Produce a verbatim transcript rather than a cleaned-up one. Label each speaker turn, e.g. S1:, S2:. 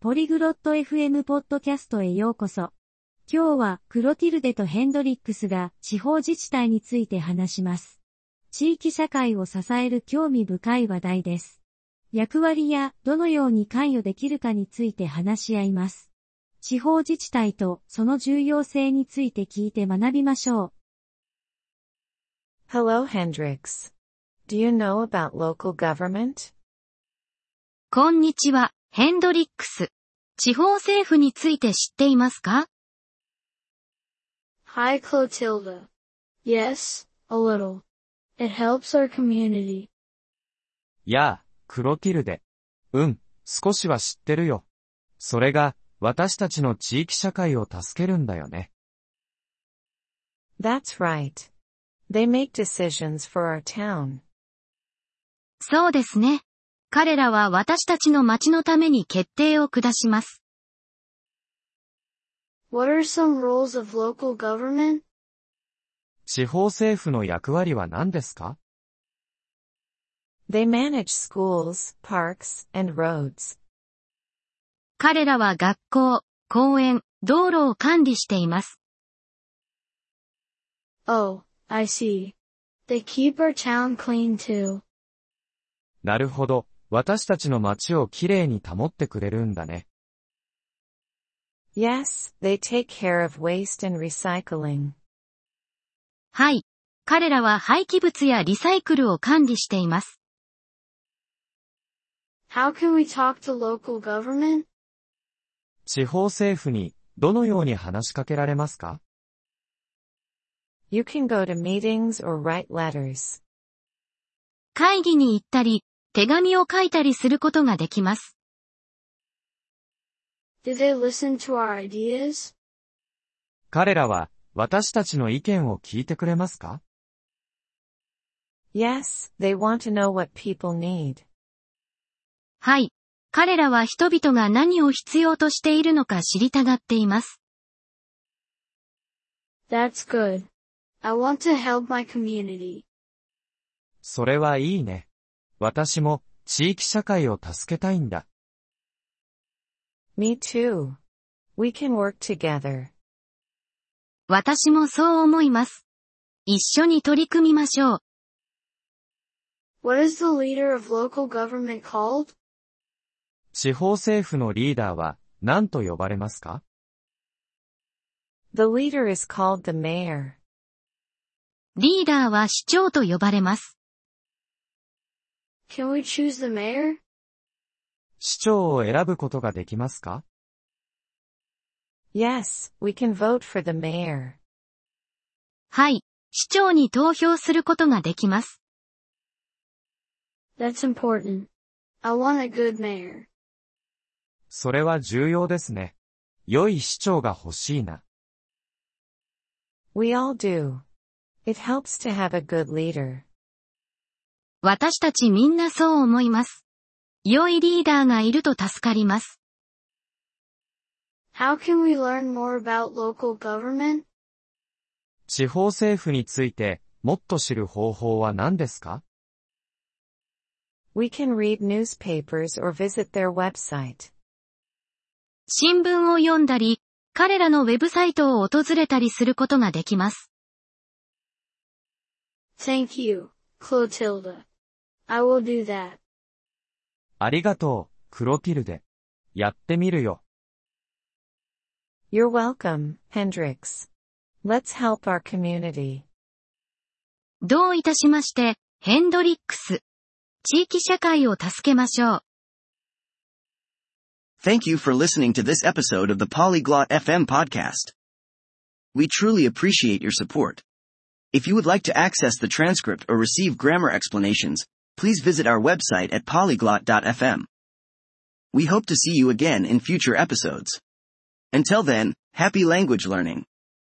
S1: ポリグロット エフエム ポッドキャストへようこそ。今日はクロティルデとヘンドリックスが地方自治体について話します。地域社会を支える興味深い話題です。役割やどのように関与できるかについて話し合います。地方自治体とその重要性について聞いて学びましょう。
S2: Hello, Hendrix. Do you know about local government?
S3: こんにちは、ヘンドリックス。地方政府について知っていますか？
S4: Hi, Clotilda. Yes, a little. It helps our community.
S5: やあ、クロティルデ。うん、少しは知ってるよ。それが、私たちの地域社会を助けるんだよね。
S2: That's right. They make decisions for our town.
S3: そうですね。彼らは私たちの町のために決定を下します。
S4: What are some roles of local government?
S5: 地方政府の役割は何ですか？
S2: They manage schools, parks, and roads.
S3: 彼らは学校、公園、道路を管理しています。
S4: Oh, I see. They keep our town clean too.
S5: なるほど。私たちの街をきれいに保ってくれるんだね。
S2: Yes, they take care of waste and recycling.
S3: はい。彼らは廃棄物やリサイクルを管理しています。
S4: How can we talk to local government?
S5: 地方政府にどのように話しかけられますか？
S2: You can go to meetings or write letters.
S3: 会議に行ったり、手紙を書いたりすることができます。
S4: Do they listen to our ideas?
S5: 彼らは私たちの意見を聞いてくれますか？
S2: Yes, they want to know what people need.
S3: はい。彼らは人々が何を必要としているのか知りたがっています。
S4: That's good. I want to help my community.
S5: それはいいね。私も地域社会を助けたいんだ。
S2: Me too. We can work together.
S3: 私もそう思います。一緒に取り組みましょう。
S4: What is the leader of local government called?
S5: 地方政府のリーダーは何と呼ばれますか？
S2: The leader is called the mayor.
S3: リーダーは市長と呼ばれます。
S4: Can we choose the mayor?
S5: 市長を選ぶことができますか？
S2: Yes, we can vote for the mayor.
S3: はい。市長に投票することができます。
S4: That's important. I want a good mayor.
S5: それは重要ですね。良い市長が欲しいな。
S2: We all do. It helps to have a good leader.
S3: 私たちみんなそう思います。良いリーダーがいると助かります。
S4: How can we learn more about local government?
S5: 地方政府についてもっと知る方法は何ですか？
S2: We can read newspapers or visit their website.
S3: 新聞を読んだり、彼らのウェブサイトを訪れたりすることができます。
S4: Thank you, Clotilda. I will do that.
S5: ありがとう、クロティルデ。やってみるよ。
S2: You're welcome, Hendrix. Let's help our community.
S3: どういたしまして、ヘンドリックス。地域社会を助けましょう。
S6: Thank you for listening to this episode of the Polyglot エフエム podcast. We truly appreciate your support. If you would like to access the transcript or receive grammar explanations, please visit our website at polyglot dot f m. We hope to see you again in future episodes. Until then, happy language learning.